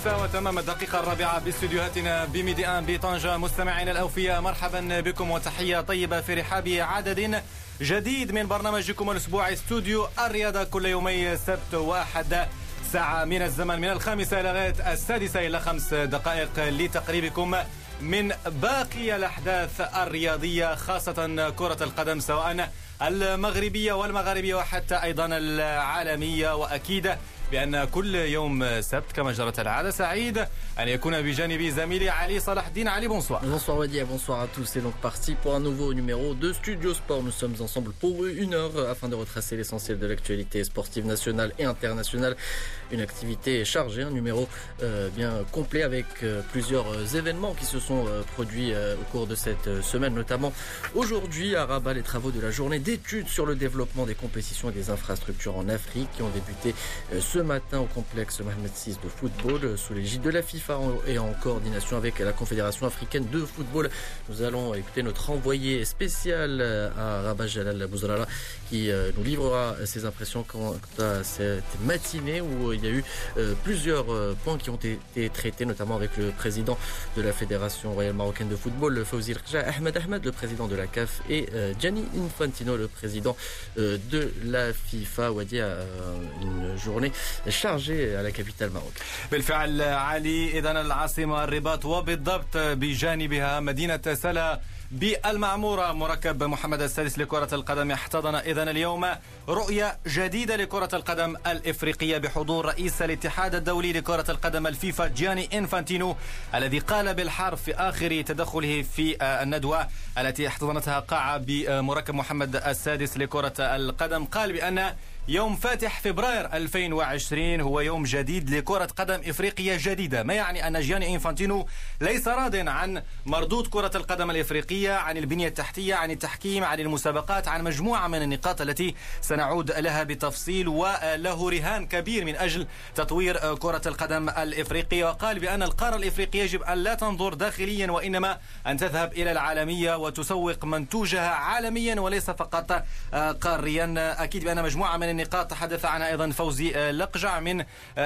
السادسة وتمام الدقيقة الرابعة باستديوهاتنا بميديان بطنجة. مستمعينا الأوفياء، مرحبا بكم وتحية طيبة في رحاب عدد جديد من برنامجكم الأسبوعي استوديو الرياضة، كل يومي سبت وأحد ساعة من الزمن من 5 لغاية 6 إلى 5 دقائق لتقريبكم من باقي الأحداث الرياضية، خاصة كرة القدم سواء المغربية والمغاربية وحتى أيضا العالمية. وأكيد بأن كل يوم سبت كما جرت العادة سعيد أن يكون بجانبي زميلي علي صلاح الدين. علي، bonsoir. Bonsoir Wadi, bonsoir à tous. C'est donc parti pour un nouveau numéro de Studio Sport. Nous sommes ensemble pour une heure afin de retracer l'essentiel de l'actualité sportive nationale et internationale. Une activité chargée, un numéro bien complet avec plusieurs événements qui se sont produits au cours de cette semaine, notamment aujourd'hui à Rabat, les travaux de la journée d'études sur le développement des compétitions et des infrastructures en Afrique qui ont débuté ce matin au complexe Mohamed VI de football sous l'égide de la FIFA et en coordination avec la Confédération africaine de football. Nous allons écouter notre envoyé spécial à Rabat, Jalal Bouzrala, qui nous livrera ses impressions quant à cette matinée où il y a eu plusieurs points qui ont été traités, notamment avec le président de la Fédération royale marocaine de football, Fawzi Lakja, Ahmed, le président de la CAF, et Gianni Infantino, le président de la FIFA. Wadi, a une journée chargée à la capitale Maroc. بالفعل علي، إذن العاصمة الرباط وبالضبط بجانبها مدينة سلا بالمعمورة مركب محمد السادس لكرة القدم احتضن إذن اليوم رؤية جديدة لكرة القدم الإفريقية بحضور رئيس الاتحاد الدولي لكرة القدم الفيفا جياني إنفانتينو، الذي قال بالحرف في آخر تدخله في الندوة التي احتضنتها قاعة بمركب محمد السادس لكرة القدم، قال بأن يوم فاتح فبراير 2020 هو يوم جديد لكرة قدم إفريقية جديدة. ما يعني أن جياني إنفانتينو ليس راض عن مردود كرة القدم الإفريقية، عن البنية التحتية، عن التحكيم، عن المسابقات، عن مجموعة من النقاط التي سنعود لها بالتفصيل، وله رهان كبير من أجل تطوير كرة القدم الإفريقية. وقال بأن القارة الإفريقية يجب أن لا تنظر داخليا وإنما أن تذهب إلى العالمية وتسوق منتوجها عالميا وليس فقط قاريا. أكيد بأن مجموعة من النقاط تحدث عنها أيضا فوزي لقجع، من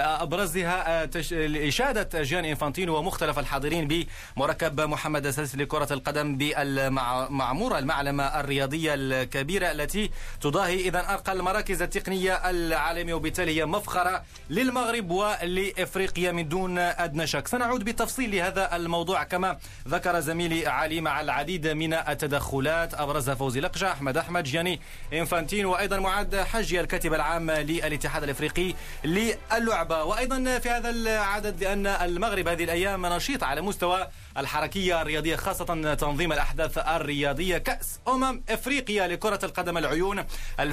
أبرزها إشادة جياني إنفانتينو ومختلف الحاضرين بمركب محمد السادس لكرة القدم بالمعمورة، المعلمة الرياضية الكبيرة التي تضاهي إذن أرقى المراكز التقنية العالمية، وبالتالي هي مفخرة للمغرب ولإفريقيا من دون أدنى شك. سنعود بالتفصيل لهذا الموضوع كما ذكر زميلي علي مع العديد من التدخلات أبرزها فوزي لقجع، أحمد جياني إنفانتينو، وأيضا معد حجي الكاتب العام للاتحاد الافريقي للعبة. وايضا في هذا العدد لان المغرب هذه الايام نشيط على مستوى الحركية الرياضية، خاصة تنظيم الأحداث الرياضية. كأس إفريقيا لكرة القدم العيون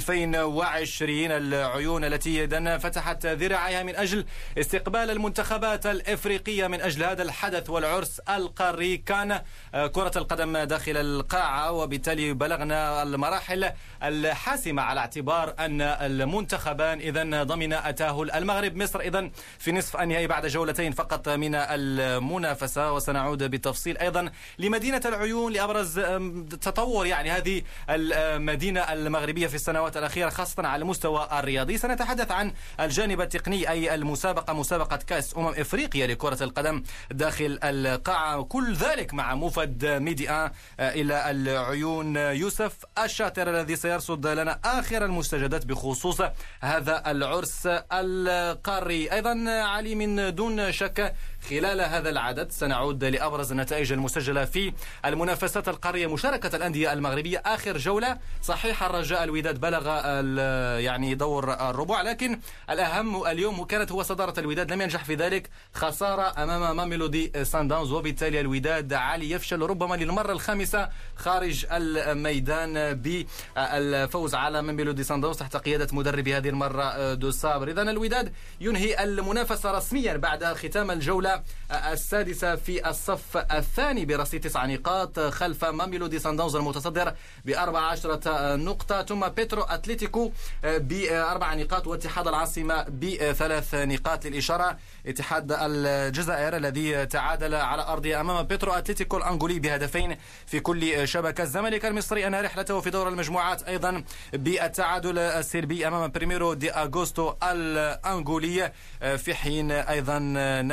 2020، العيون التي فتحت ذراعيها من أجل استقبال المنتخبات الإفريقية من أجل هذا الحدث والعرس القاري. كان كرة القدم داخل القاعة، وبالتالي بلغنا المراحل الحاسمة على اعتبار أن المنتخبان إذن ضمن التأهل. المغرب مصر إذن في نصف النهائي بعد جولتين فقط من المنافسة، وسنعود بالتفصيل أيضا لمدينة العيون لأبرز تطور يعني هذه المدينة المغربية في السنوات الأخيرة خاصة على المستوى الرياضي. سنتحدث عن الجانب التقني، أي المسابقة مسابقة كأس إفريقيا لكرة القدم داخل القاعة، كل ذلك مع موفد ميديا إلى العيون يوسف الشاطر الذي سيرصد لنا آخر المستجدات بخصوص هذا العرس القاري. أيضا علي، من دون شك خلال هذا العدد سنعود لأبرز النتائج المسجلة في المنافسات القارية. مشاركة الأندية المغربية آخر جولة، صحيح الرجاء الوداد بلغ يعني دور الربع، لكن الأهم اليوم كانت هو صدارة الوداد، لم ينجح في ذلك، خسارة أمام ماميلودي سانداونز، وبالتالي الوداد علي يفشل ربما للمرة الخامسة خارج الميدان بالفوز على ماميلودي سانداونز تحت قيادة مدرب هذه المرة دو صابر. إذن الوداد ينهي المنافسة رسميا بعد ختام الجولة السادسة في الصف الثاني برصيد 9 نقاط خلف ماميلودي سانداونز المتصدر ب14 نقطة، ثم بيترو أتليتيكو ب4 نقاط، واتحاد العاصمة ب3 نقاط. للإشارة اتحاد الجزائر الذي تعادل على أرضه أمام بيترو أتليتيكو الأنغولي بهدفين في كل شبكة. الزمالك المصري أنهى رحلته في دور المجموعات أيضا بالتعادل السلبي أمام بريميرو دي أغوستو الأنغولي، في حين أيضا نادي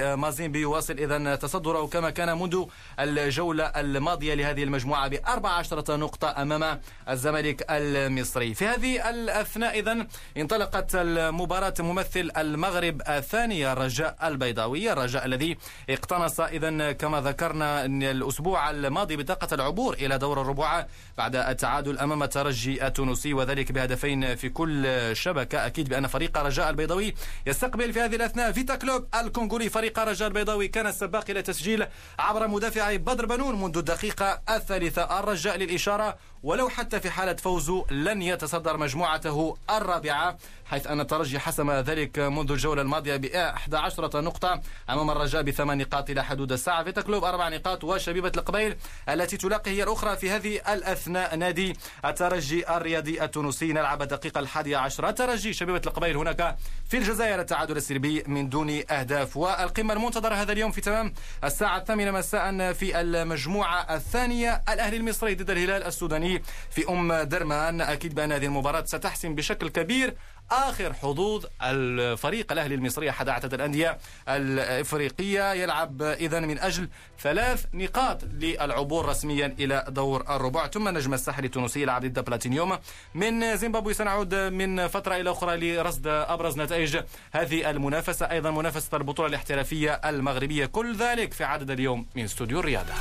مازيمبي يواصل إذن تصدره كما كان منذ الجولة الماضية لهذه المجموعة ب14 نقطة أمام الزمالك المصري. في هذه الأثناء إذن انطلقت المباراة ممثل المغرب الثانية الرجاء البيضاوي، الرجاء الذي اقتنص إذن كما ذكرنا الأسبوع الماضي بطاقة العبور إلى دور الربع بعد التعادل أمام الترجي التونسي وذلك بهدفين في كل شبكة. أكيد بأن فريق الرجاء البيضاوي يستقبل في هذه الأثناء فيتا كلوب الكونغولي. فريق الرجاء البيضاوي كان السباق إلى تسجيل عبر مدافعي بدر بنون منذ الدقيقة الثالثة. الرجاء للإشارة ولو حتى في حالة فوزه لن يتصدر مجموعته الرابعة، حيث أن الترجي حسم ذلك منذ الجولة الماضية ب11 نقطة أمام الرجاء ب8 نقاط إلى حدود الساعة. فيتا كلوب 4 نقاط، وشبيبة القبيل التي تلاقي هي الأخرى في هذه الأثناء نادي الترجي الرياضي التونسي. نلعب الدقيقة 11. الترجي شبيبة القبيل هناك في الجزائر التعادل السلبي من دون أهداف. والقمة المنتظرة هذا اليوم في تمام الساعة 8 مساء في المجموعة الثانية، الأهلي المصري ضد الهلال السوداني في درمان. أكيد بأن هذه المباراة ستحسم بشكل كبير آخر حظوظ الفريق الأهلي المصري أحد أعتاد الأندية الإفريقية، يلعب إذن من أجل 3 نقاط للعبور رسميا إلى دور الربع. ثم النجم الساحلي التونسي يلعب ضد بلاتينيوم من زيمبابوي. سنعود من فترة إلى أخرى لرصد أبرز نتائج هذه المنافسة، أيضا منافسة البطولة الاحترافية المغربية، كل ذلك في عدد اليوم من استوديو الرياضة.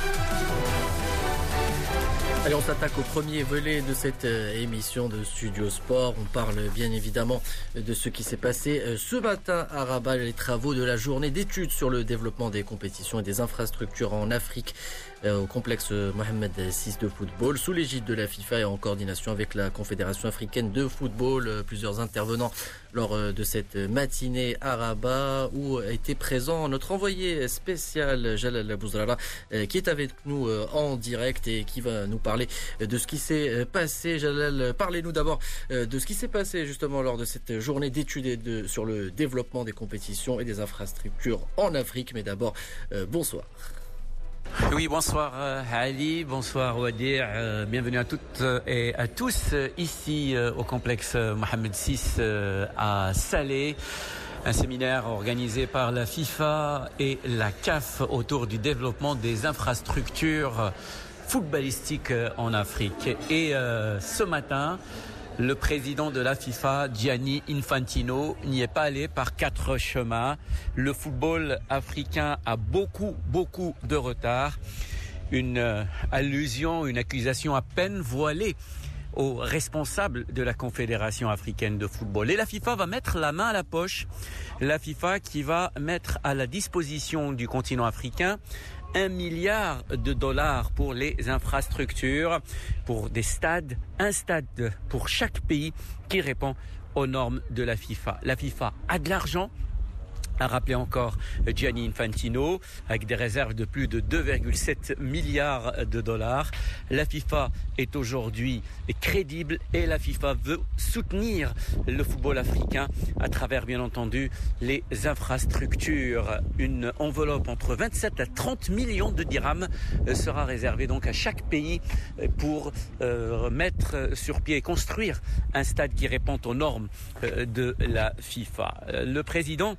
Allez, on s'attaque au premier volet de cette émission de Studio Sport. On parle bien évidemment de ce qui s'est passé ce matin à Rabat, les travaux de la journée d'études sur le développement des compétitions et des infrastructures en Afrique au complexe Mohamed VI de football, sous l'égide de la FIFA et en coordination avec la Confédération africaine de football. Plusieurs intervenants lors de cette matinée à Rabat où était présent notre envoyé spécial Jalal Bouzrala qui est avec nous en direct et qui va nous parler de ce qui s'est passé. Jalal, parlez-nous d'abord de ce qui s'est passé justement lors de cette journée d'études sur le développement des compétitions et des infrastructures en Afrique. Mais d'abord, bonsoir. Oui, bonsoir Ali, bonsoir Wadir, bienvenue à toutes et à tous ici au complexe Mohamed VI à Salé. Un séminaire organisé par la FIFA et la CAF autour du développement des infrastructures footballistiques en Afrique. Et ce matin, le président de la FIFA, Gianni Infantino, n'y est pas allé par 4 chemins. Le football africain a beaucoup de retard. Une allusion, une accusation à peine voilée aux responsables de la Confédération africaine de football. Et la FIFA va mettre la main à la poche. La FIFA qui va mettre à la disposition du continent africain $1 milliard pour les infrastructures, pour des stades, un stade pour chaque pays qui répond aux normes de la FIFA. La FIFA a de l'argent, a rappelé encore Gianni Infantino, avec des réserves de plus de $2,7 milliards. La FIFA est aujourd'hui crédible et la FIFA veut soutenir le football africain à travers, bien entendu, les infrastructures. Une enveloppe entre 27 à 30 millions de dirhams sera réservée donc à chaque pays pour mettre sur pied et construire un stade qui répond aux normes de la FIFA. Le président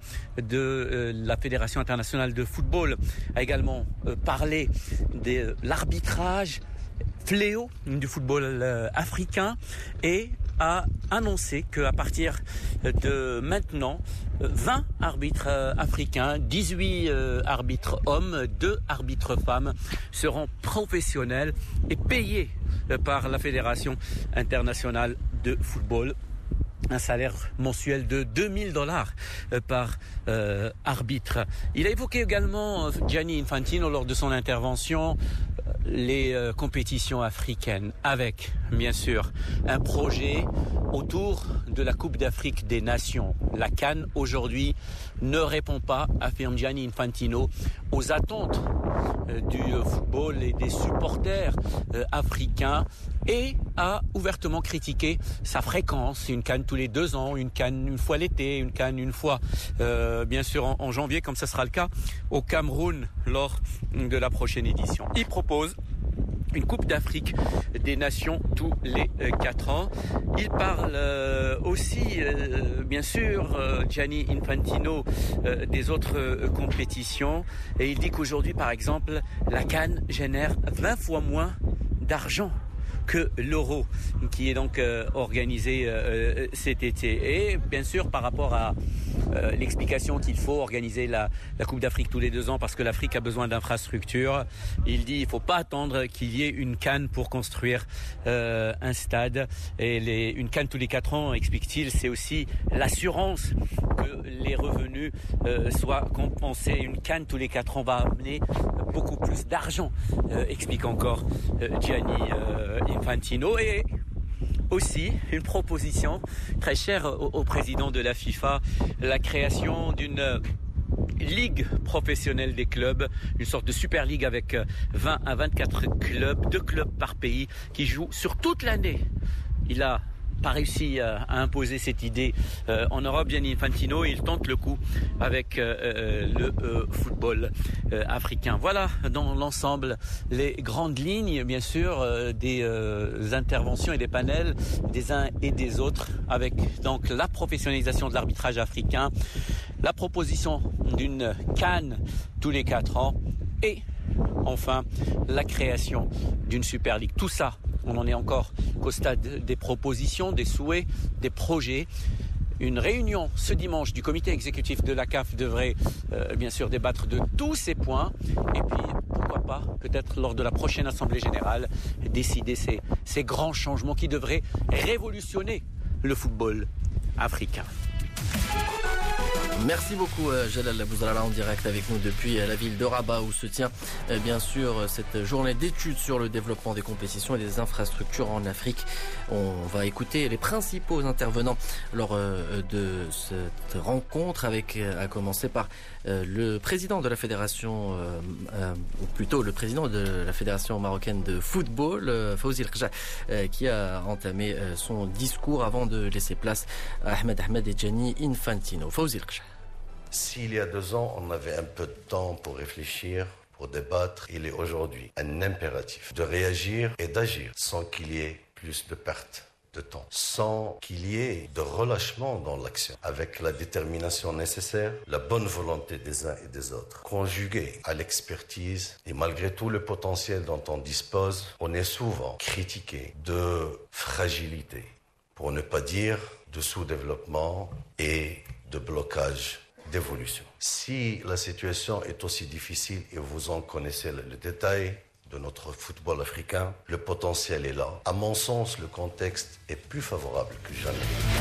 de la Fédération internationale de football a également parlé de l'arbitrage fléau du football africain et a annoncé qu'à partir de maintenant, 20 arbitres africains, 18 arbitres hommes, 2 arbitres femmes seront professionnels et payés par la Fédération internationale de football. Un salaire mensuel de $2 000 par arbitre. Il a évoqué également, Gianni Infantino, lors de son intervention, les compétitions africaines avec, bien sûr, un projet autour de la Coupe d'Afrique des Nations. La CAN, aujourd'hui, ne répond pas, affirme Gianni Infantino, aux attentes du football et des supporters africains et a ouvertement critiqué sa fréquence. Une CAN tous les 2 ans, une CAN une fois l'été, une CAN une fois, bien sûr, en janvier, comme ça sera le cas au Cameroun lors de la prochaine édition. Il propose une Coupe d'Afrique des Nations tous les 4 ans. Il parle aussi, bien sûr, Gianni Infantino, des autres compétitions. Et il dit qu'aujourd'hui, par exemple, la CAN génère 20 fois moins d'argent que l'Euro, qui est donc organisé cet été. Et bien sûr, par rapport à l'explication qu'il faut organiser la Coupe d'Afrique tous les 2 ans parce que l'Afrique a besoin d'infrastructures, il dit qu'il ne faut pas attendre qu'il y ait une CAN pour construire un stade. Et une CAN tous les 4 ans, explique-t-il, c'est aussi l'assurance que les revenus soient compensés. Une CAN tous les 4 ans va amener beaucoup plus d'argent, explique encore Gianni Infantino. Et aussi une proposition très chère au président de la FIFA, la création d'une ligue professionnelle des clubs, une sorte de super ligue avec 20 à 24 clubs, 2 clubs par pays qui jouent sur toute l'année. Il a pas réussi à imposer cette idée en Europe, Gianni Infantino, il tente le coup avec le football africain. Voilà dans l'ensemble les grandes lignes, bien sûr, des interventions et des panels des uns et des autres, avec donc la professionnalisation de l'arbitrage africain, la proposition d'une CAN tous les 4 ans et enfin la création d'une Super League. Tout ça, on en est encore qu'au stade des propositions, des souhaits, des projets. Une réunion ce dimanche du comité exécutif de la CAF devrait bien sûr débattre de tous ces points. Et puis, pourquoi pas, peut-être lors de la prochaine Assemblée Générale, décider ces grands changements qui devraient révolutionner le football africain. Merci beaucoup Jalal Bouzalala en direct avec nous depuis la ville de Rabat où se tient bien sûr cette journée d'études sur le développement des compétitions et des infrastructures en Afrique. On va écouter les principaux intervenants lors de cette rencontre à commencer par le président de la fédération, ou plutôt le président de la fédération marocaine de football, Fawzi El-Kja, qui a entamé son discours avant de laisser place à Ahmed et Gianni Infantino. Fawzi El-Kja. S'il y a 2 ans, on avait un peu de temps pour réfléchir, pour débattre, il est aujourd'hui un impératif de réagir et d'agir sans qu'il y ait plus de pertes de temps, sans qu'il y ait de relâchement dans l'action, avec la détermination nécessaire, la bonne volonté des uns et des autres, conjuguée à l'expertise et malgré tout le potentiel dont on dispose, on est souvent critiqué de fragilité, pour ne pas dire de sous-développement et de blocage d'évolution. Si la situation est aussi difficile et vous en connaissez le détail de notre football africain, le potentiel est là. À mon sens, le contexte est plus favorable que jamais.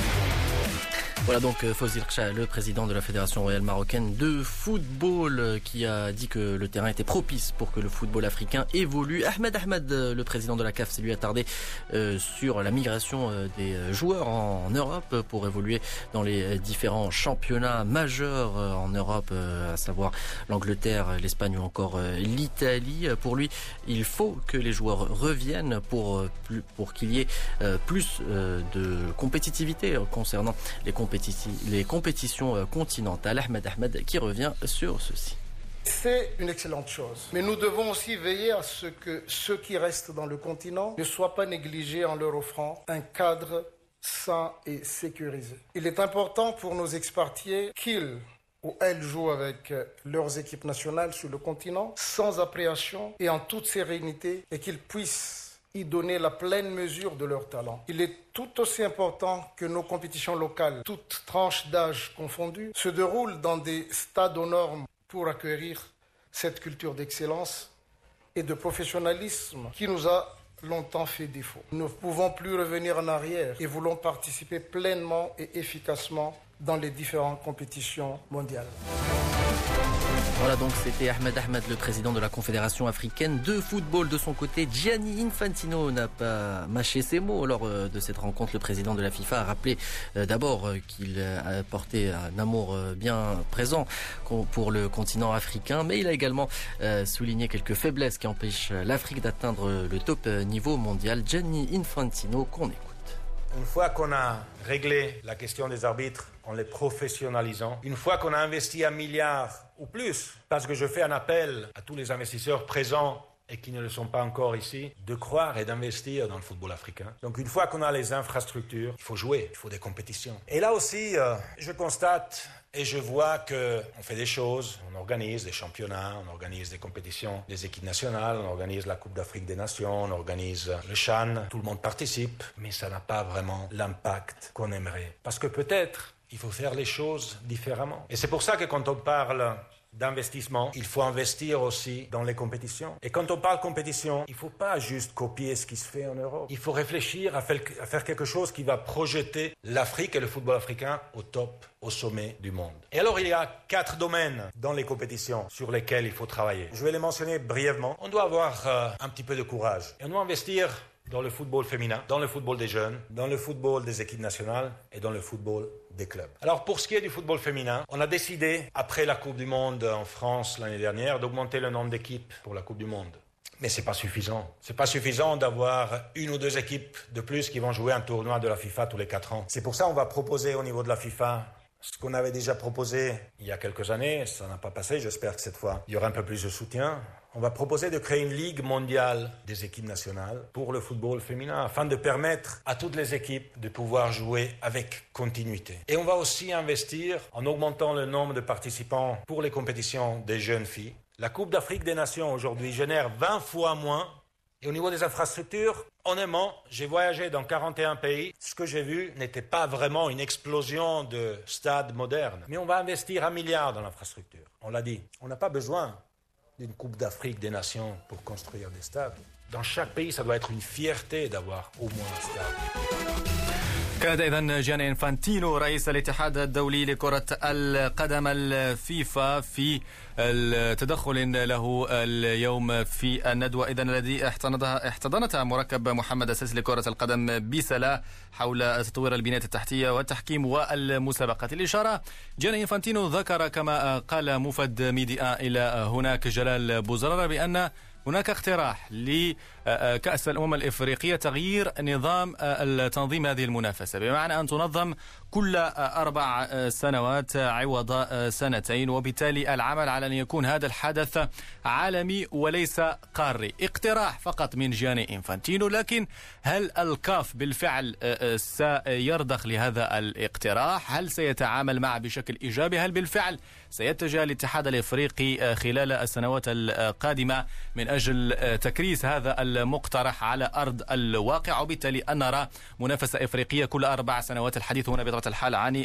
Voilà donc Fawzi El-Kja, le président de la Fédération royale marocaine de football, qui a dit que le terrain était propice pour que le football africain évolue. Ahmed, le président de la CAF, s'est lui attardé sur la migration des joueurs en Europe pour évoluer dans les différents championnats majeurs en Europe, à savoir l'Angleterre, l'Espagne ou encore l'Italie. Pour lui, il faut que les joueurs reviennent pour qu'il y ait plus de compétitivité concernant les compétitions continentales. Ahmed qui revient sur ceci. C'est une excellente chose. Mais nous devons aussi veiller à ce que ceux qui restent dans le continent ne soient pas négligés en leur offrant un cadre sain et sécurisé. Il est important pour nos expatriés qu'ils ou elles jouent avec leurs équipes nationales sur le continent sans appréhension et en toute sérénité et qu'ils puissent y donner la pleine mesure de leur talent. Il est tout aussi important que nos compétitions locales, toutes tranches d'âge confondues, se déroulent dans des stades aux normes pour accueillir cette culture d'excellence et de professionnalisme qui nous a longtemps fait défaut. Nous ne pouvons plus revenir en arrière et voulons participer pleinement et efficacement dans les différentes compétitions mondiales. Voilà donc c'était Ahmed, le président de la Confédération africaine de football. De son côté, Gianni Infantino n'a pas mâché ses mots lors de cette rencontre. Le président de la FIFA a rappelé d'abord qu'il a porté un amour bien présent pour le continent africain, mais il a également souligné quelques faiblesses qui empêchent l'Afrique d'atteindre le top niveau mondial. Gianni Infantino, qu'on écoute. Une fois qu'on a réglé la question des arbitres en les professionnalisant, une fois qu'on a investi 1 milliard ou plus, parce que je fais un appel à tous les investisseurs présents et qui ne le sont pas encore ici, de croire et d'investir dans le football africain. Donc une fois qu'on a les infrastructures, il faut jouer, il faut des compétitions. Et là aussi, je constate et je vois qu'on fait des choses, on organise des championnats, on organise des compétitions des équipes nationales, on organise la Coupe d'Afrique des Nations, on organise le CHAN, tout le monde participe, mais ça n'a pas vraiment l'impact qu'on aimerait. Parce que peut-être, il faut faire les choses différemment. Et c'est pour ça que quand on parle d'investissement, il faut investir aussi dans les compétitions. Et quand on parle compétition, il ne faut pas juste copier ce qui se fait en Europe. Il faut réfléchir à faire quelque chose qui va projeter l'Afrique et le football africain au top, au sommet du monde. Et alors, il y a 4 domaines dans les compétitions sur lesquels il faut travailler. Je vais les mentionner brièvement. On doit avoir un petit peu de courage. Et on doit investir dans le football féminin, dans le football des jeunes, dans le football des équipes nationales et dans le football des clubs. Alors pour ce qui est du football féminin, on a décidé, après la Coupe du Monde en France l'année dernière, d'augmenter le nombre d'équipes pour la Coupe du Monde. Mais c'est pas suffisant. C'est pas suffisant d'avoir 1 ou 2 équipes de plus qui vont jouer un tournoi de la FIFA tous les 4 ans. C'est pour ça qu'on va proposer au niveau de la FIFA ce qu'on avait déjà proposé il y a quelques années. Ça n'a pas passé, j'espère que cette fois il y aura un peu plus de soutien. On va proposer de créer une ligue mondiale des équipes nationales pour le football féminin afin de permettre à toutes les équipes de pouvoir jouer avec continuité. Et on va aussi investir en augmentant le nombre de participants pour les compétitions des jeunes filles. La Coupe d'Afrique des Nations aujourd'hui génère 20 fois moins. Et au niveau des infrastructures, honnêtement, j'ai voyagé dans 41 pays. Ce que j'ai vu n'était pas vraiment une explosion de stades modernes. Mais on va investir 1 milliard dans l'infrastructure. On l'a dit, on n'a pas besoin d'une Coupe d'Afrique des Nations pour construire des stades. Dans chaque pays, ça doit être une fierté d'avoir au moins un stade. كان إذن جياني إنفانتينو رئيس الاتحاد الدولي لكرة القدم الفيفا في التدخل له اليوم في الندوة إذن الذي احتضنتها مركب محمد السيسي لكرة القدم بسلا حول تطوير البنية التحتية والتحكيم والمسابقات. الإشارة جياني إنفانتينو ذكر كما قال مفد ميديا إلى هناك جلال بوزرارة بأن هناك اقتراح لكأس الأمم الإفريقية تغيير نظام التنظيم هذه المنافسة بمعنى أن تنظم كل 4 سنوات عوض 2 وبالتالي العمل على أن يكون هذا الحدث عالمي وليس قاري. اقتراح فقط من جياني إنفانتينو، لكن هل الكاف بالفعل سيرضخ لهذا الاقتراح؟ هل سيتعامل معه بشكل إيجابي؟ هل بالفعل سيتجه الاتحاد الإفريقي خلال السنوات القادمة من أجل تكريس هذا المقترح على أرض الواقع وبالتالي أن نرى منافسة إفريقية كل 4 سنوات؟ الحديث هنا بطبيعة الحال عن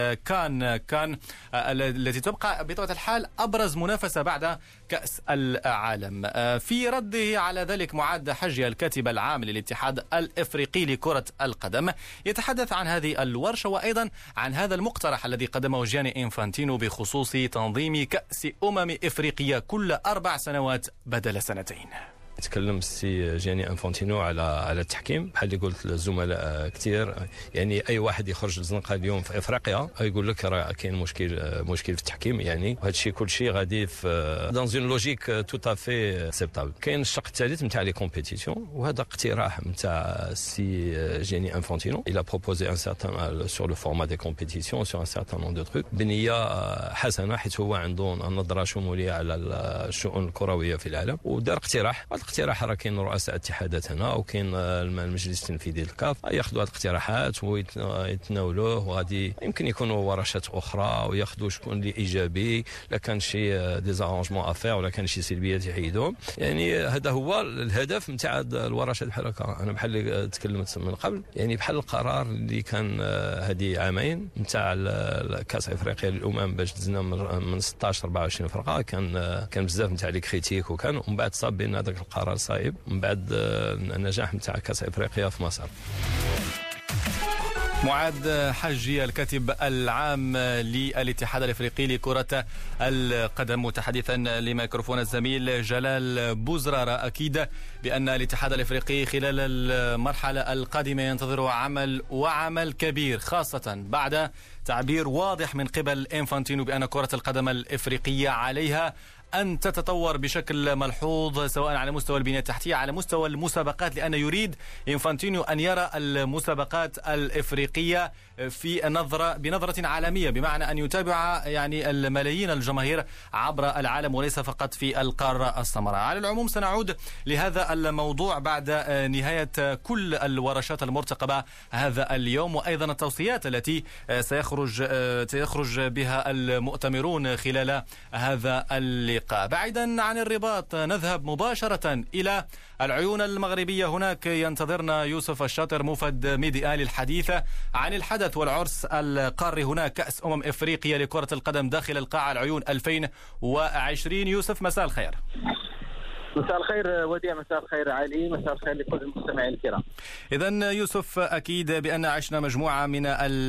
الكان التي تبقى بطبيعة الحال أبرز منافسة بعد كأس العالم. في رده على ذلك معاد حجي الكاتب العام للاتحاد الإفريقي لكرة القدم يتحدث عن هذه الورشة وأيضا عن هذا المقترح الذي قدمه جياني إنفانتينو بخصوص تنظيم كأس إفريقية كل 4 سنوات بدل 2. تكلم السي جياني انفانتينو على التحكيم بحال اللي قلت للزملاء كثير. يعني اي واحد يخرج للزنقه اليوم في افريقيا يقول لك راه كاين مشكل في التحكيم. يعني وهذا الشيء كل شيء غادي في دون اون لوجيك تو افي اكسبتابل. كاين الشق الثالث نتاع لي كومبيتيسيون وهذا اقتراح نتاع السي جياني انفانتينو. il a proposé un certain sur le format des compétitions sur un certain nombre de trucs بنيه حسنه حيث هو عنده نظره شموليه على الشؤون الكرويه في العالم ودار اقتراح. الاقتراح راه كاين رؤساء اتحادات هنا وكاين المجلس التنفيذي للكاف ياخذوا هذه الاقتراحات ويتناولوه وغادي يمكن يكونوا ورشات اخرى وياخذوا شكون اللي ايجابي. لا كان شي ديزارونجمون افير ولا كان شي سلبيات يحيدوهم. يعني هذا هو الهدف نتاع الورشات بحال هكا. انا بحال اللي تكلمت من قبل يعني بحال القرار اللي كان هذه عامين نتاع كاس افريقيا للامم باش دزنا من 16 24 فرقه كان بزاف نتاع لي كريتيك ومن بعد صاب بان هذاك القرار صايب من بعد النجاح نتاع كاس افريقيا في مصر. معاد حجي الكاتب العام للاتحاد الافريقي لكرة القدم متحدثا لميكروفون الزميل جلال بوزرارة. اكيد بان الاتحاد الافريقي خلال المرحلة القادمة ينتظر عمل كبير خاصة بعد تعبير واضح من قبل إنفانتينو بأن كرة القدم الإفريقية عليها أن تتطور بشكل ملحوظ سواء على مستوى البنية التحتية على مستوى المسابقات، لأن يريد إنفانتينو أن يرى المسابقات الإفريقية بنظرة عالمية، بمعنى أن يتابع يعني الملايين الجماهير عبر العالم وليس فقط في القارة السمراء. على العموم سنعود لهذا الموضوع بعد نهاية كل الورشات المرتقبة هذا اليوم، وأيضا التوصيات التي سيخرج بها المؤتمرون خلال هذا اللقاء. بعيدا عن الرباط نذهب مباشرة إلى العيون المغربية. هناك ينتظرنا يوسف الشاطر موفد ميديا للحديث عن الحدث والعرس القاري هناك كأس إفريقيا لكرة القدم داخل القاعة العيون 2020. يوسف مساء الخير. مساء الخير وديع، مساء الخير علي، مساء الخير لكل المستمعين الكرام. إذن يوسف، أكيد بأن عشنا مجموعة من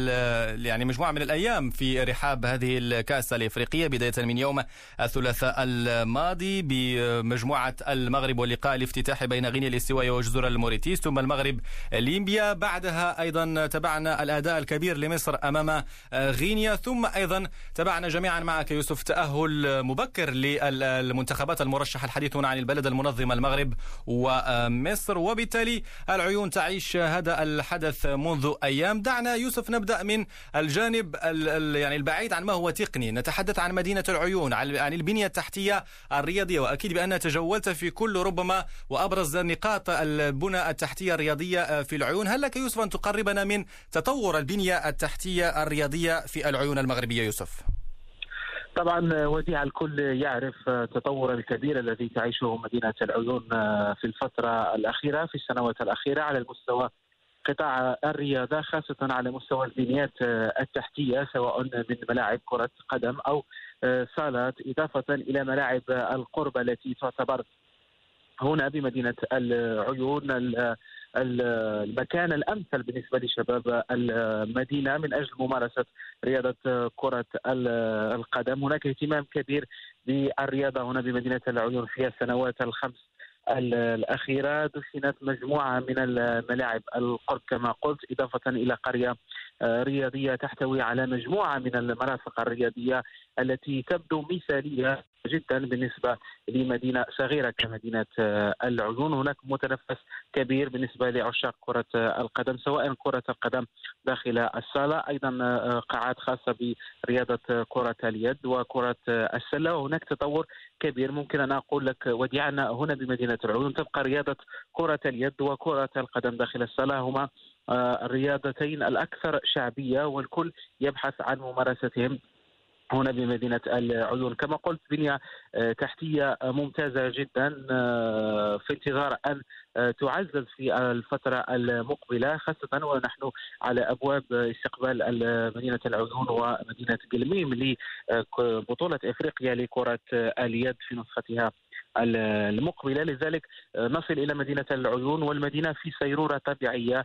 الأيام في رحاب هذه الكأس الإفريقية، بداية من يوم الثلاثاء الماضي بمجموعة المغرب واللقاء الافتتاحي بين غينيا الاستوائية وجزر الموريتيس، ثم المغرب ليبيا. بعدها أيضا تابعنا الأداء الكبير لمصر أمام غينيا، ثم أيضا تابعنا جميعا معك يوسف تأهل مبكر للمنتخبات المرشحة. الحديث هنا عن البلد المنظمة المغرب ومصر، وبالتالي العيون تعيش هذا الحدث منذ أيام. دعنا يوسف نبدأ من الجانب يعني البعيد عن ما هو تقني، نتحدث عن مدينة العيون، عن البنية التحتية الرياضية، وأكيد بأن تجولت في كل ربما وأبرز نقاط البنى التحتية الرياضية في العيون. هل لك يوسف أن تقربنا من تطور البنية التحتية الرياضية في العيون المغربية يوسف؟ طبعا وديع، الكل يعرف التطور الكبير الذي تعيشه مدينة العيون في الفترة الأخيرة، في السنوات الأخيرة، على المستوى قطاع الرياضة، خاصة على مستوى البنيات التحتية، سواء من ملاعب كرة قدم أو صالات، إضافة إلى ملاعب القرب التي تعتبر هنا بمدينة العيون المكان الأمثل بالنسبة لشباب المدينة من أجل ممارسة رياضة كرة القدم. هناك اهتمام كبير بالرياضة هنا بمدينة العيون في السنوات الخمس الأخيرة. دشنت مجموعة من الملاعب القرب كما قلت، إضافة إلى قرية رياضية تحتوي على مجموعة من المرافق الرياضية التي تبدو مثالية جدا بالنسبة لمدينة صغيرة كمدينة العيون. هناك متنفس كبير بالنسبة لعشاق كرة القدم، سواء كرة القدم داخل الصالة، أيضا قاعات خاصة برياضة كرة اليد وكرة السلة. وهناك تطور كبير. ممكن أن أقول لك وديع أن هنا بمدينة العيون تبقى رياضة كرة اليد وكرة القدم داخل الصالة هما الرياضتين الأكثر شعبية، والكل يبحث عن ممارستهم هنا بمدينة العيون. كما قلت بنية تحتية ممتازة جدا في انتظار أن تعزز في الفترة المقبلة، خاصة ونحن على أبواب استقبال مدينة العيون ومدينة قلميم لبطولة إفريقيا لكرة اليد في نسختها المقبلة. لذلك نصل إلى مدينة العيون والمدينة في سيرورة طبيعية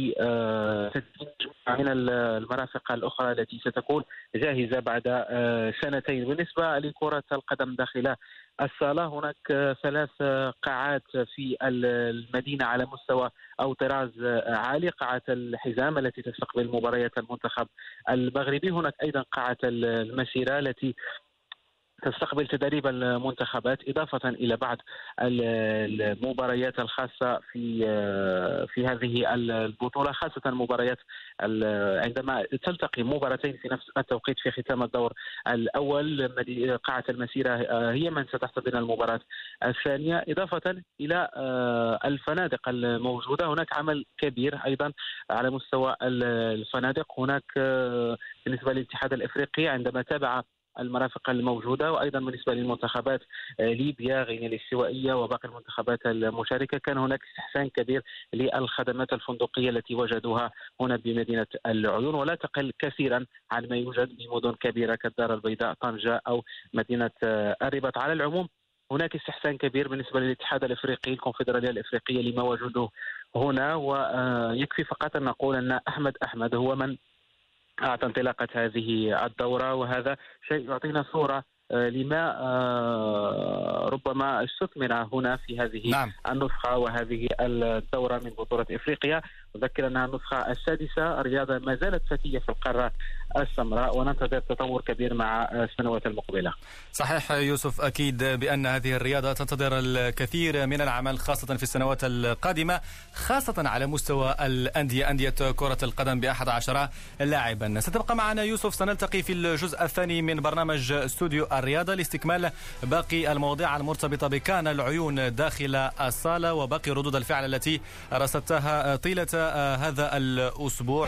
من المرافق الأخرى التي ستكون جاهزة بعد سنتين. بالنسبة لكرة القدم داخل الصالة، هناك 3 قاعات في المدينة على مستوى أو طراز عالي. قاعة الحزام التي تستقبل مباريات المنتخب المغربي، هناك أيضا قاعة المسيرة التي تستقبل تدريب المنتخبات، إضافة إلى بعض المباريات الخاصة في هذه البطولة، خاصة مباريات عندما تلتقي مباراتين في نفس التوقيت في ختام الدور الأول. قاعة المسيرة هي من ستحتضن المباراة الثانية، إضافة إلى الفنادق الموجودة. هناك عمل كبير أيضا على مستوى الفنادق. هناك بالنسبة للاتحاد الإفريقي عندما تابع المرافق الموجودة، وأيضا بالنسبة للمنتخبات ليبيا، غينيا الاستوائية وباقي المنتخبات المشاركة، كان هناك استحسان كبير للخدمات الفندقية التي وجدوها هنا بمدينة العيون، ولا تقل كثيرا عن ما يوجد بمدن كبيرة كالدار البيضاء، طنجة أو مدينة الرباط. على العموم هناك استحسان كبير بالنسبة للاتحاد الإفريقي، الكونفدرالية الإفريقية، لما وجده هنا. ويكفي فقط أن نقول أن أحمد هو من أعطى انطلاقة هذه الدورة، وهذا شيء يعطينا صورة لما ربما ربما استثمر هنا في هذه النسخة وهذه الدورة من بطولة إفريقيا. أذكر أنها النسخة السادسة. الرياضة ما زالت فتية في القارة السمراء وننتظر تطور كبير مع السنوات المقبلة. صحيح يوسف، أكيد بأن هذه الرياضة تنتظر الكثير من العمل خاصة في السنوات القادمة، خاصة على مستوى الأندية، أندية كرة القدم ب11 لاعبا. ستبقى معنا يوسف، سنلتقي في الجزء الثاني من برنامج استوديو الرياضة لاستكمال باقي المواضيع المرتبطة بكان العيون داخل الصالة وباقي ردود الفعل التي رصدتها طيلة هذا الأسبوع.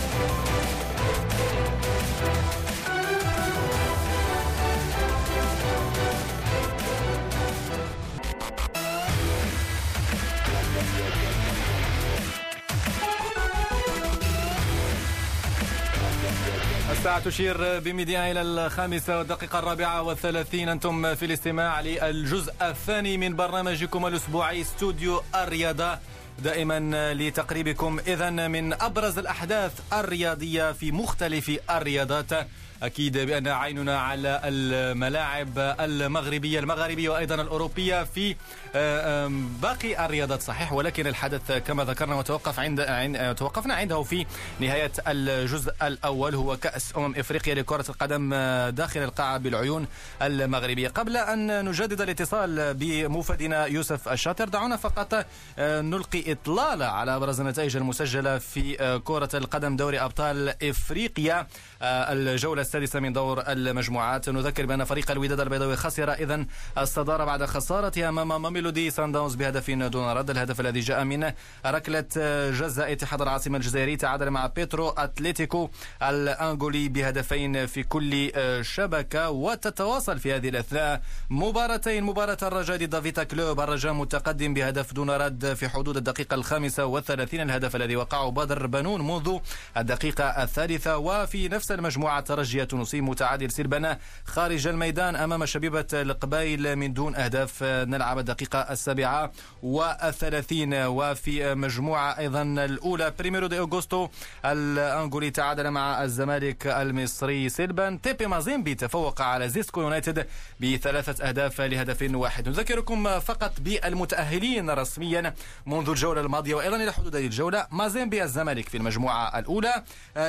الساعة تشير بميديا إلى 5:34. أنتم في الاستماع للجزء الثاني من برنامجكم الأسبوعي استوديو الرياضة، دائما لتقريبكم إذن من أبرز الأحداث الرياضية في مختلف الرياضات. أكيد بأن عيننا على الملاعب المغربية وأيضا الأوروبية في باقي الرياضات، صحيح، ولكن الحدث كما ذكرنا توقفنا عنده في نهاية الجزء الأول هو كأس إفريقيا لكرة القدم داخل القاعة بالعيون المغربية. قبل أن نجدد الاتصال بموفدنا يوسف الشاطر، دعونا فقط نلقي إطلالة على أبرز النتائج المسجلة في كرة القدم دوري أبطال إفريقيا الجولة السادسة من دور المجموعات. نذكر بأن فريق الوداد البيضاوي خسر إذن الصدارة بعد خسارته أمام ماميلودي سان داونز بهدف دون رد. الهدف الذي جاء من ركلة جزاء اتحاد العاصمة الجزائري، تعادل مع بيترو أتليتيكو الأنغولي بهدفين في كل شبكة. وتتواصل في هذه الأثناء مباراتين، مباراة الرجاء ضد فيتا كلوب، الرجاء متقدم بهدف دون رد في حدود الدقيقة 35، الهدف الذي وقعه بدر بنون منذ الدقيقة 3. وفي نفس المجموعة ترجي تونسي متعادل سلبنا خارج الميدان أمام شبيبة القبائل من دون أهداف، نلعب الدقيقة 37. وفي مجموعة أيضا الأولى بريميرو دي أوغوستو الأنغولي تعادل مع الزمالك المصري سلبا. تيبي مازيمبي تفوق على زيسكو يونايتد ب3 أهداف لهدف واحد. نذكركم فقط بالمتأهلين رسميا منذ الجولة الماضية وأيضا إلى حدود الجولة. مازيمبي الزمالك في المجموعة الأولى،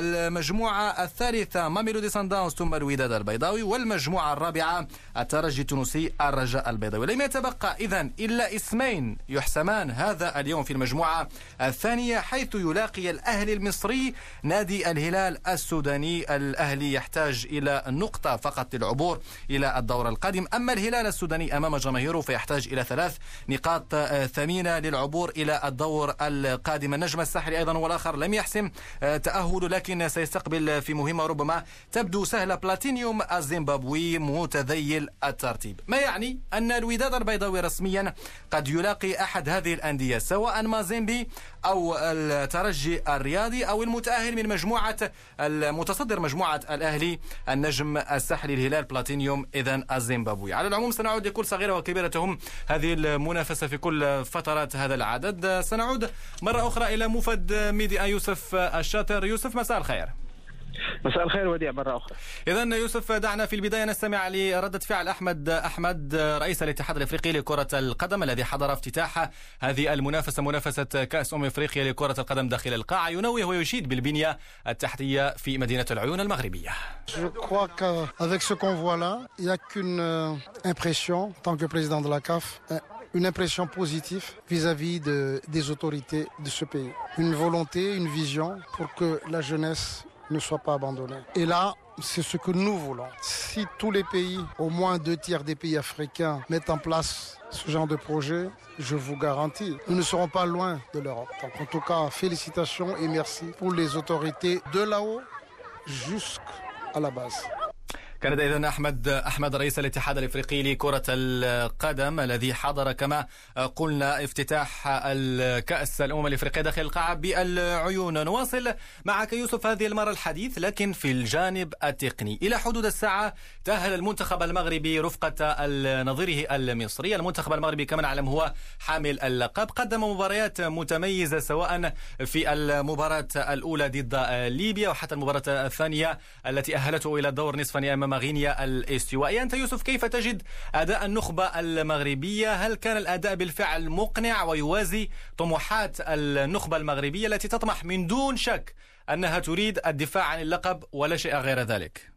المجموعة الثالثة ماميلودي سان داونز ثم الوداد البيضاوي، والمجموعة الرابعة الترجي التونسي الرجاء البيضاوي. لم يتبقى إذن إلا اسمين يحسمان هذا اليوم في المجموعة الثانية، حيث يلاقي الأهلي المصري نادي الهلال السوداني. الأهلي يحتاج إلى نقطة فقط للعبور إلى الدور القادم، أما الهلال السوداني أمام جماهيره فيحتاج إلى 3 نقاط ثمينة للعبور إلى الدور القادم. النجم الساحلي أيضا والآخر لم يحسم تأهله، لكن سيستقبل في مهمة ربما تبدو سهلة بلاتينيوم الزيمبابوي متذيل الترتيب، ما يعني أن الوداد البيضاوي رسميا قد يلاقي أحد هذه الأندية، سواء مازيمبي أو الترجي الرياضي أو المتأهل من مجموعة المتصدر مجموعة الأهلي النجم الساحلي الهلال بلاتينيوم إذن الزيمبابوي. على العموم سنعود لكل صغيرة وكبيرتهم هذه المنافسة في كل فترات هذا العدد. سنعود مرة أخرى إلى موفد ميديا يوسف الشاطر. يوسف مساء الخير. مساء الخير وديع مرة أخرى. إذن يوسف، دعنا في البداية نستمع لردة فعل أحمد رئيس الاتحاد الأفريقي لكرة القدم الذي حضر افتتاح هذه المنافسة، منافسة كأس إفريقيا لكرة القدم داخل القاعة، ينوه ويشيد بالبنية التحتية في مدينة العيون المغربية. Je crois qu'avec ce qu'on voit là, il n'y a qu'une impression, en tant que président de la CAF, une impression positive vis-à-vis des autorités de ce pays. Une volonté, une vision pour que la jeunesse ne soit pas abandonnée. Et là, c'est ce que nous voulons. Si tous les pays, au moins 2/3 des pays africains, mettent en place ce genre de projet, je vous garantis, nous ne serons pas loin de l'Europe. Donc, en tout cas, félicitations et merci pour les autorités de là-haut jusqu'à la base. كان إذن أحمد رئيس الاتحاد الأفريقي لكرة القدم الذي حضر كما قلنا افتتاح الكأس الأمم الأفريقية داخل القاعة بالعيون. نواصل معك يوسف هذه المرة الحديث لكن في الجانب التقني. إلى حدود الساعة تأهل المنتخب المغربي رفقة نظيره المصري. المنتخب المغربي كما نعلم هو حامل اللقب، قدم مباريات متميزة سواء في المباراة الأولى ضد ليبيا وحتى المباراة الثانية التي أهلته إلى الدور نصف نهائي أمام أمام غينيا الاستوائية. أنت يوسف كيف تجد أداء النخبة المغربية؟ هل كان الأداء بالفعل مقنع ويوازي طموحات النخبة المغربية التي تطمح من دون شك أنها تريد الدفاع عن اللقب ولا شيء غير ذلك؟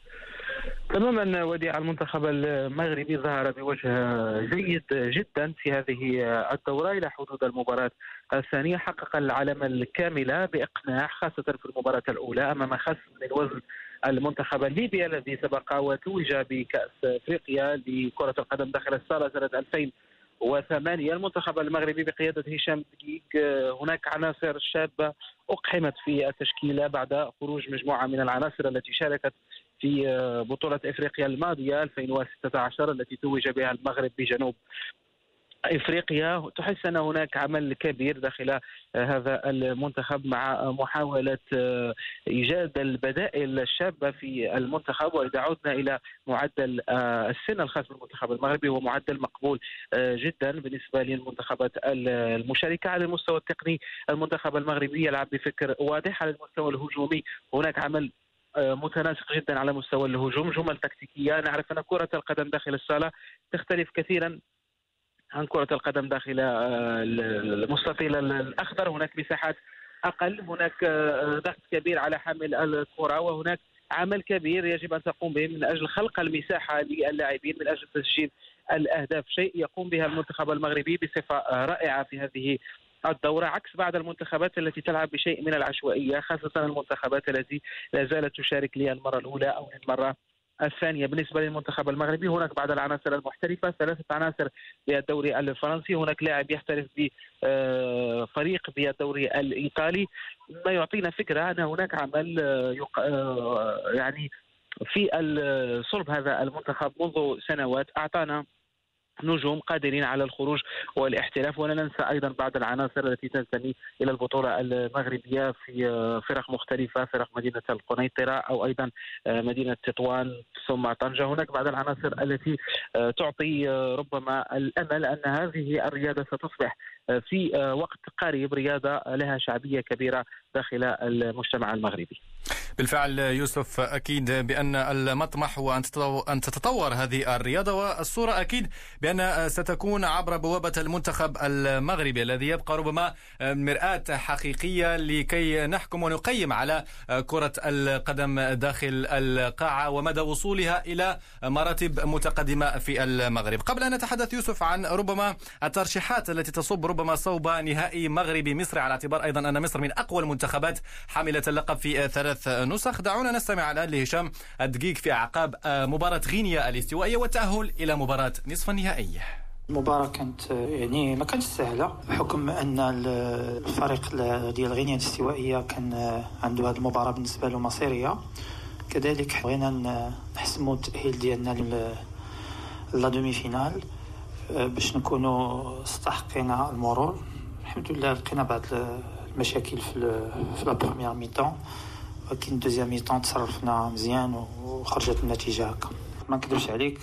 تماما وديع، المنتخب المغربي ظهر بوجه جيد جدا في هذه الدورة إلى حدود المباراة الثانية. حقق العلامة الكاملة بإقناع، خاصة في المباراة الأولى أمام خصم من وزن المنتخب الليبي الذي سبق وتوج بكأس أفريقيا لكرة القدم داخل الصالة سنة 2008. المنتخب المغربي بقيادة هشام دقيق هناك عناصر شابة أقحمت في التشكيلة بعد خروج مجموعة من العناصر التي شاركت في بطولة إفريقيا الماضية 2016 التي توج بها المغرب بجنوب إفريقيا. تحس أن هناك عمل كبير داخل هذا المنتخب مع محاولة إيجاد البدائل الشابة في المنتخب. وإذا عدنا إلى معدل السن الخاص بالمنتخب المغربي هو معدل مقبول جدا بالنسبة للمنتخبات المشاركة. على المستوى التقني المنتخب المغربي يلعب بفكر واضح. على المستوى الهجومي هناك عمل متناسق جدا على مستوى الهجوم، جمل تكتيكية. نعرف أن كرة القدم داخل الصالة تختلف كثيرا عن كرة القدم داخل المستطيل الأخضر. هناك مساحات أقل، هناك ضغط كبير على حامل الكرة، وهناك عمل كبير يجب أن تقوم به من أجل خلق المساحة للاعبين من أجل تسجيل الأهداف، شيء يقوم بها المنتخب المغربي بصفة رائعة في هذه الدورة، عكس بعض المنتخبات التي تلعب بشيء من العشوائية، خاصة المنتخبات التي لا زالت تشارك للمرة الأولى أو للمرة الثانية. بالنسبة للمنتخب المغربي هناك بعض العناصر المحترفة، 3 عناصر بالدوري الفرنسي، هناك لاعب يحترف بفريق بالدوري الإيطالي، ما يعطينا فكرة أن هناك عمل يعني في صلب هذا المنتخب منذ سنوات أعطانا نجوم قادرين على الخروج والاحتراف. ولا ننسى أيضا بعض العناصر التي تنتمي إلى البطولة المغربية في فرق مختلفة، فرق مدينة القنيطرة أو أيضا مدينة تطوان ثم طنجة. هناك بعض العناصر التي تعطي ربما الأمل أن هذه الرياضة ستصبح في وقت قريب رياضة لها شعبية كبيرة داخل المجتمع المغربي. بالفعل يوسف، أكيد بأن المطمح هو أن تتطور هذه الرياضة، والصورة أكيد بأن ستكون عبر بوابة المنتخب المغربي الذي يبقى ربما مرآة حقيقية لكي نحكم ونقيم على كرة القدم داخل القاعة ومدى وصولها إلى مراتب متقدمة في المغرب. قبل أن نتحدث يوسف عن ربما الترشيحات التي تصب ربما صوب نهائي مغربي مصري، على اعتبار أيضا أن مصر من أقوى المنتخبات حاملة اللقب في 3 نسخ، دعونا نستمع الآن لهشام الدقيق في أعقاب مباراة غينيا الاستوائية والتأهل إلى مباراة نصف النهائي. المباراة كانت يعني ما كانتش سهلة بحكم أن الفريق ديال غينيا الاستوائية كان عنده هذه المباراة بالنسبة له مصيرية. كذلك بغينا نحسموا التأهيل ديالنا لا دومي فينال باش نكونوا استحقينا المرور. الحمد لله لقينا بعض المشاكل في لا بروميير ميطون، ولكن الدوزيام ميطون تصرفنا مزيان وخرجت النتيجة هكا. ما نكذبش عليك،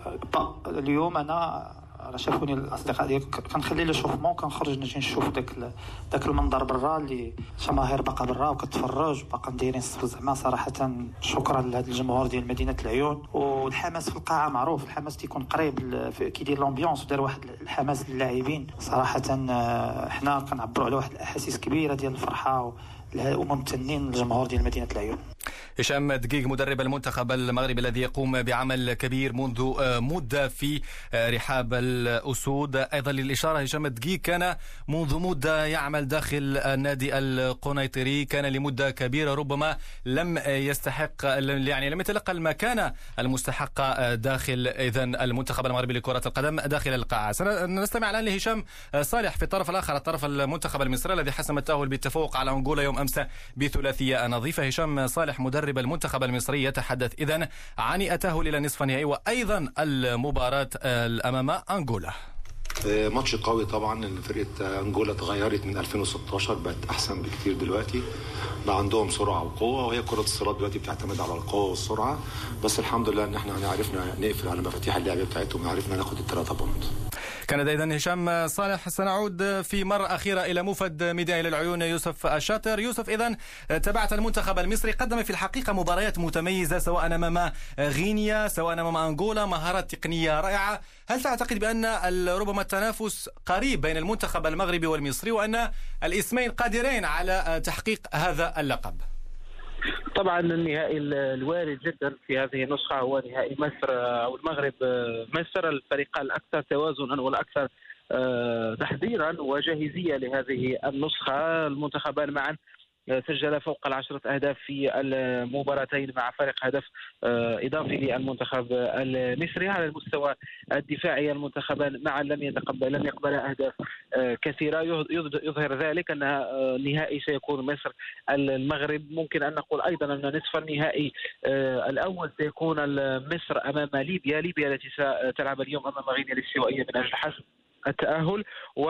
اليوم انا شافوني الاصدقاء ديالي كنخلي لي شوفمون كنخرج نجي نشوف داك المنظر برا اللي الجماهير باقا برا وكتفرج باقا دايرين الصف. زعما صراحه شكرا لهذا الجمهور ديال مدينه العيون. والحماس في القاعه معروف، الحماس تيكون قريب كيدير لومبيونس ودار واحد الحماس للاعبين. صراحه حنا كنعبروا على واحد الاحاسيس كبيره ديال الفرحه وممتنين للجمهور ديال مدينه العيون. هشام دقيق مدرب المنتخب المغربي الذي يقوم بعمل كبير منذ مدة في رحاب الأسود. أيضا للإشارة هشام دقيق كان منذ مدة يعمل داخل النادي القنيطري، كان لمدة كبيرة ربما لم يستحق يعني لم يتلقى المكانة المستحقة داخل إذن المنتخب المغربي لكرة القدم داخل القاعة. سنستمع الآن لهشام صالح في الطرف الآخر، الطرف المنتخب المصري الذي حسم التأهل بالتفوق على أنغولا يوم أمس بثلاثية نظيفة. هشام صالح مدرب المنتخب المصري يتحدث إذن عن التأهل إلى نصف النهائي وأيضا المباراة أمام أنغولا. ماتش قوي طبعا، ان فرقه انغولا تغيرت من 2016 بقت احسن بكتير دلوقتي، بقى عندهم سرعه وقوه، وهي كره الصالات دلوقتي بتعتمد على القوه والسرعه. بس الحمد لله ان احنا عرفنا نقفل على مفاتيح اللعب بتاعتهم، عرفنا ناخد ال3 بونت. كان إذن هشام صالح. سنعود في مرة أخيرة إلى موفد ميديا العيون يوسف الشاطر. يوسف، إذن تابعت المنتخب المصري، قدم في الحقيقة مباريات متميزة سواء أمام غينيا سواء أمام أنغولا، مهارات تقنية رائعة. هل تعتقد بأن ربما التنافس قريب بين المنتخب المغربي والمصري وأن الاسمين قادرين على تحقيق هذا اللقب؟ طبعا النهائي الوارد جدا في هذه النسخة هو نهائي مصر أو المغرب مصر، الفريقان الأكثر توازنا والأكثر تحضيرا وجاهزية لهذه النسخة. المنتخبان معا سجل فوق 10 أهداف في المباراتين مع فرق هدف إضافي للمنتخب المصري. على المستوى الدفاعي المنتخبان معا لم يقبل أهداف كثيرة، يظهر ذلك أن النهائي سيكون مصر المغرب. ممكن أن نقول أيضا أن نصف النهائي الأول سيكون مصر أمام ليبيا التي ستلعب اليوم أمام غينيا الاستوائية من أجل حسم التأهل،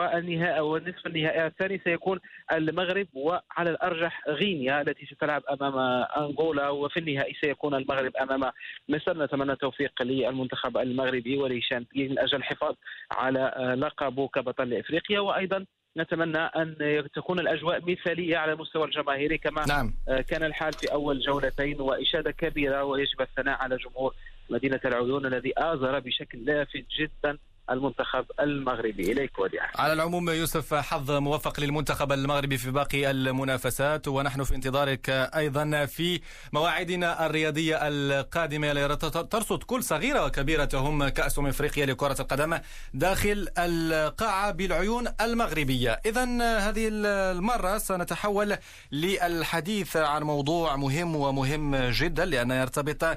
والنصف النهائي الثاني سيكون المغرب وعلى الأرجح غينيا التي ستلعب أمام أنغولا، وفي النهائي سيكون المغرب أمام مصر. نتمنى التوفيق للمنتخب المغربي ولهشام من أجل الحفاظ على لقبه كبطل إفريقيا، وأيضا نتمنى أن تكون الأجواء مثالية على المستوى الجماهيري كما كان الحال في أول جولتين، وإشادة كبيرة ويجب الثناء على جمهور مدينة العيون الذي آزر بشكل لافت جدا المنتخب المغربي. إليك وديع. على العموم يوسف، حظ موفق للمنتخب المغربي في باقي المنافسات، ونحن في انتظارك أيضا في مواعيدنا الرياضية القادمة ترصد كل صغيرة وكبيرة تهم كأس إفريقيا لكرة القدم داخل القاعة بالعيون المغربية. إذن هذه المرة سنتحول للحديث عن موضوع مهم جدا، لأنه يرتبط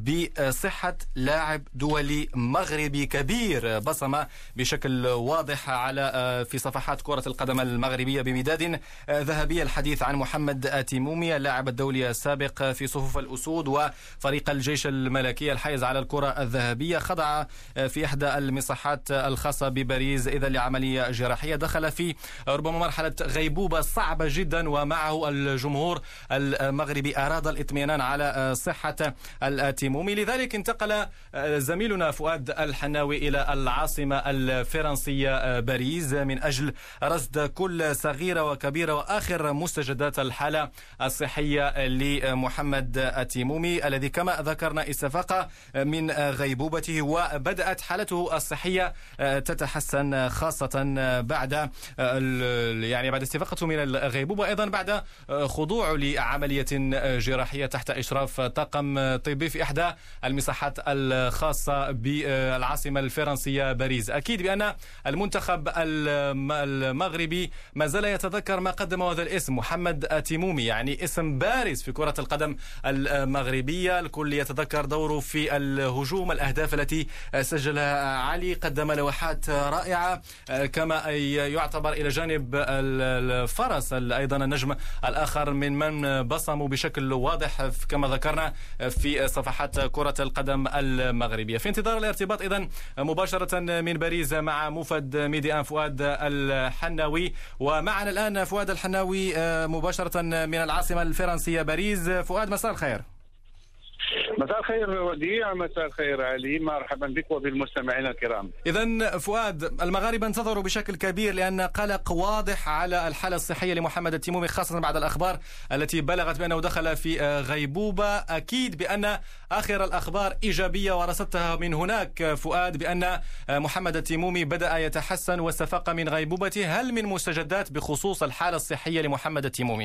بصحة لاعب دولي مغربي كبير بصمة بشكل واضح على في صفحات كرة القدم المغربية بمداد ذهبية. الحديث عن محمد أتيمومي، اللاعب الدولي السابق في صفوف الأسود وفريق الجيش الملكي الحائز على الكرة الذهبية، خضع في إحدى المصحات الخاصة بباريس إذا لعملية جراحية. دخل في ربما مرحلة غيبوبة صعبة جدا، ومعه الجمهور المغربي أراد الاطمئنان على صحة الأتيمومي. لذلك انتقل زميلنا فؤاد الحناوي إلى العاصمة الفرنسية باريس من أجل رصد كل صغيرة وكبيرة وآخر مستجدات الحالة الصحية لمحمد أتيمومي الذي كما ذكرنا استفاق من غيبوبته، وبدأت حالته الصحية تتحسن خاصة بعد استفاقته من الغيبوبة، أيضا بعد خضوعه لعملية جراحية تحت إشراف طاقم طبي في إحدى المصحات الخاصة بالعاصمة الفرنسية باريس. أكيد بأن المنتخب المغربي ما زال يتذكر ما قدمه هذا الاسم محمد أتيمومي، يعني اسم بارز في كرة القدم المغربية. الكل يتذكر دوره في الهجوم، الأهداف التي سجلها علي، قدم لوحات رائعة، كما يعتبر إلى جانب الفرس أيضا النجم الآخر من بصموا بشكل واضح كما ذكرنا في صفحات كرة القدم المغربية. في انتظار الارتباط إذن مباشرة من باريس مع موفد ميديا فؤاد الحناوي. ومعنا الآن فؤاد الحناوي مباشرة من العاصمة الفرنسية باريس. فؤاد، مساء الخير. مساء الخير وديع، مساء الخير علي، مرحبا بك وبالمستمعين الكرام. إذن فؤاد، المغاربة انتظروا بشكل كبير لأن قلق واضح على الحالة الصحية لمحمد التيمومي، خاصة بعد الأخبار التي بلغت بأنه دخل في غيبوبة. أكيد بأن آخر الأخبار إيجابية ورصدتها من هناك فؤاد بأن محمد التيمومي بدأ يتحسن واستفاق من غيبوبته. هل من مستجدات بخصوص الحالة الصحية لمحمد التيمومي؟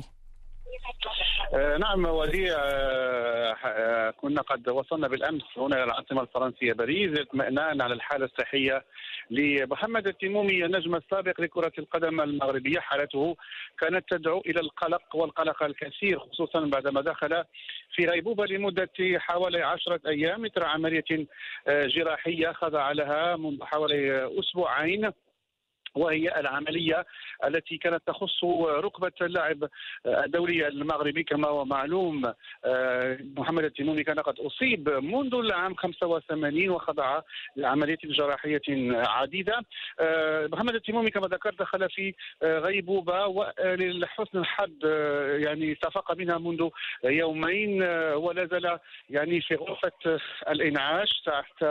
نعم وديع، كنا قد وصلنا بالأمس هنا إلى العاصمة الفرنسية باريس اطمئنان على الحالة الصحية لمحمد التيمومي النجم السابق لكرة القدم المغربية. حالته كانت تدعو إلى القلق والقلق الكثير، خصوصا بعدما دخل في غيبوبة لمدة حوالي 10 أيام إثر عملية جراحية خضع لها منذ حوالي أسبوعين، وهي العملية التي كانت تخص ركبة اللاعب الدولي المغربي. كما هو معلوم محمد التيمومي كان قد أصيب منذ العام 85 وخضع لعملية جراحية عديدة. محمد التيمومي كما ذكرت دخل في غيبوبة، ولحسن الحظ يعني استفاق منها منذ يومين، ولا زال يعني في غرفة الإنعاش تحت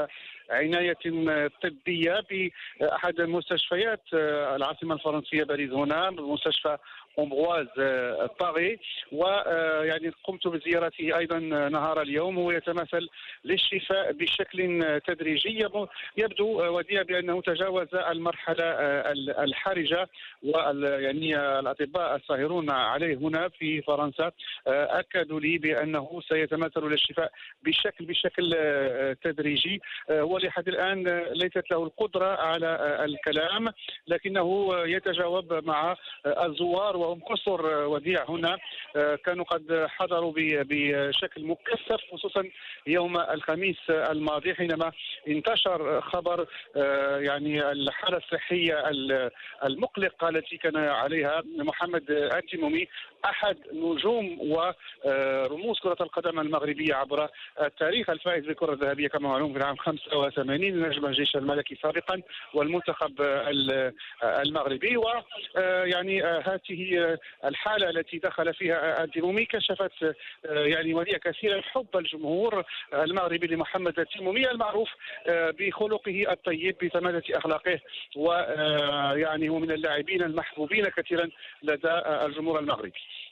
عناية طبية بأحد مستشفيات العاصمة الفرنسية باريس، هنا مستشفى أمغواز طاغي، ويعني قمت بزيارته أيضا نهار اليوم. هو يتمثل للشفاء بشكل تدريجي، يبدو وديع بأنه تجاوز المرحلة الحرجة، ويعني الأطباء الساهرون عليه هنا في فرنسا أكدوا لي بأنه سيتمثل للشفاء بشكل تدريجي. هو لحد الآن ليست له القدرة على الكلام، لكنه يتجاوب مع الزوار وهم كثر وديع هنا. كانوا قد حضروا بشكل مكثف، خصوصا يوم الخميس الماضي حينما انتشر خبر يعني الحالة الصحية المقلقة التي كان عليها محمد التيمومي، أحد نجوم ورموز كرة القدم المغربية عبر التاريخ، الفائز بالكرة الذهبية كما معلوم في العام 85، نجم الجيش الملكي سابقا والمنتخب المغربي. ويعني هذه الحالة التي دخل فيها التيمومي كشفت يعني ولي كثيرا حب الجمهور المغربي لمحمد التيمومي، المعروف بخلقه الطيب بسماجة أخلاقه، ويعني هو من اللاعبين المحبوبين كثيرا لدى الجمهور المغربي.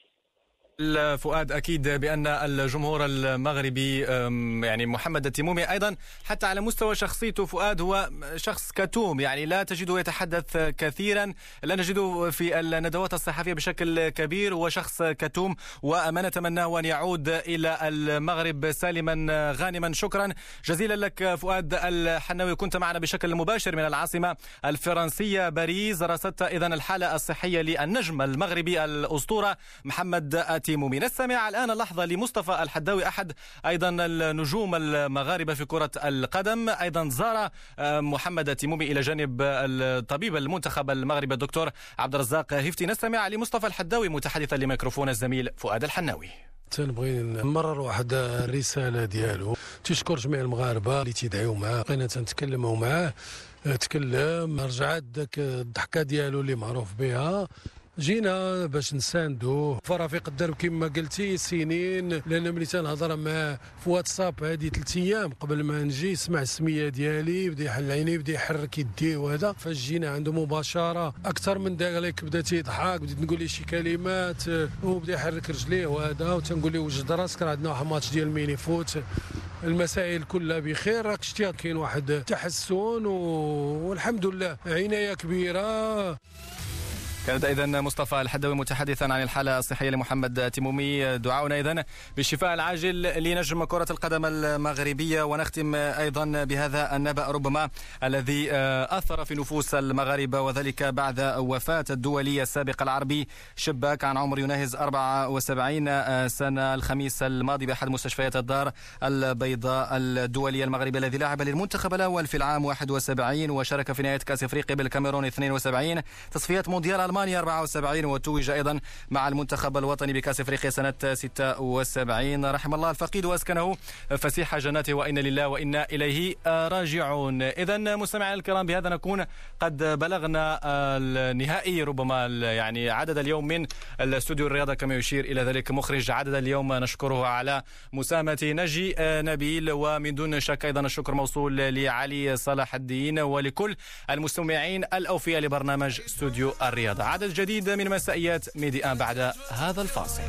فؤاد، أكيد بأن الجمهور المغربي يعني محمد التيمومي أيضا حتى على مستوى شخصيته فؤاد هو شخص كتوم، يعني لا تجده يتحدث كثيرا، لا نجده في الندوات الصحفية بشكل كبير، هو شخص كتوم وما نتمناه أن يعود إلى المغرب سالما غانما. شكرا جزيلا لك فؤاد الحناوي، كنت معنا بشكل مباشر من العاصمة الفرنسية باريس، رصدت إذن الحالة الصحية للنجم المغربي الأسطورة محمد التيمومي. نستمع الآن لحظة لمصطفى الحداوي، أحد أيضا النجوم المغاربة في كرة القدم، أيضا زار محمد التيمومي إلى جانب الطبيب المنتخب المغربي الدكتور عبد الرزاق هفتي. نستمع لمصطفى الحداوي متحدثا لميكروفون الزميل فؤاد الحناوي. تنبغي نمرر واحد الرسالة ديالو، تشكر جميع المغاربة اللي تيدعيو معاه، بقينا تنتكلموا معاه، تكلم، رجعت داك الضحكة ديالو اللي معروف بها، جينا باش نساندوه. فرافيق داروا كما قلتي سنين، لان ملي تنهضر مع في واتساب هذه 3 ايام قبل ما نجي سمع السميه ديالي، بدا يحل عينيه، بدا يحرك يديه، وهذا فاش جينا عنده مباشره اكثر من دقيقه بدا تيضحك، بديت نقول ليه شي كلمات وبدا يحرك رجليه وهذا، وتنقول ليه وجد راسك راه عندنا واحد ماتش ديال ميني فوت، المسائل كلها بخير، راك شتي كاين واحد تحسن والحمد لله، عنايه كبيره. كانت إذن مصطفى الحداوي متحدثا عن الحالة الصحية لمحمد التيمومي. دعاؤنا إذن بالشفاء العاجل لنجم كرة القدم المغربية. ونختم أيضا بهذا النبأ ربما الذي أثر في نفوس المغاربة، وذلك بعد وفاة الدولي السابق العربي شباك عن عمر يناهز 74 سنة الخميس الماضي بأحد مستشفيات الدار البيضاء. الدولي المغربي الذي لعب للمنتخب الأول في العام 71 وشارك في نهاية كأس أفريقيا بالكاميرون 72، تصفيات مونديال ألمانيا 74، وتوج أيضا مع المنتخب الوطني بكأس أفريقيا سنة 76. رحم الله الفقيد وأسكنه فسيح جناته، وإنا لله وإنا إليه راجعون. إذن مستمعينا الكرام، بهذا نكون قد بلغنا النهائي ربما يعني عدد اليوم من الاستوديو الرياضة كما يشير إلى ذلك مخرج عدد اليوم، نشكره على مساهمة نجي نبيل، ومن دون شك أيضا الشكر موصول لعلي صلاح الدين ولكل المستمعين الأوفياء لبرنامج استوديو الرياضة. عدد جديد من مسائيات ميدي آن بعد هذا الفاصل.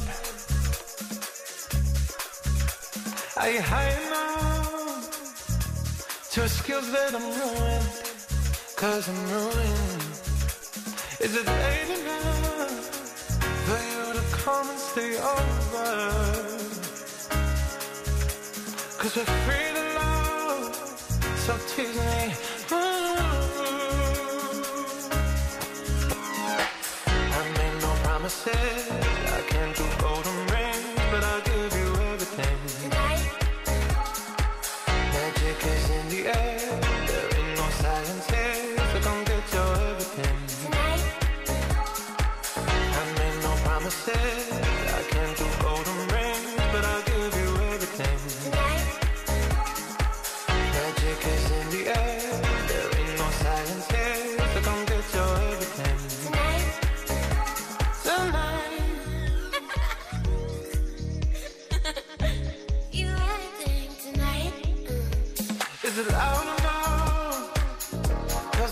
I can't do golden rings, but I'll give you everything. Tonight. Magic is in the air, there ain't no science here, so come get your everything. Tonight. I made no promises, I can't do golden rings, but I'll give you everything. Tonight. Magic is in the air, there ain't no science here, so come get your everything. Tonight. Is it loud enough?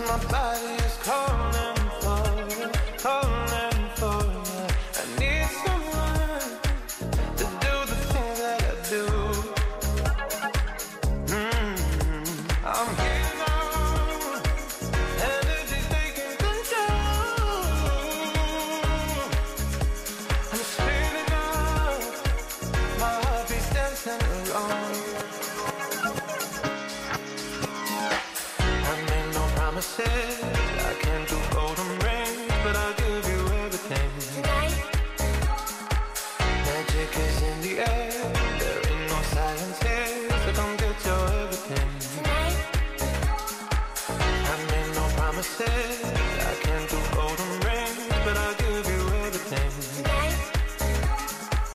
my body is calling for you. I need someone to do the things that I do. I'm here now, energy's taking control. I'm speeding up, my heart beats dancing along. I made no promises, I can't do golden rings, but I'll give you everything. Tonight, magic is in the air, there ain't no silence here, so come get your everything. Tonight, I made no promises, I can't do golden rings, but I'll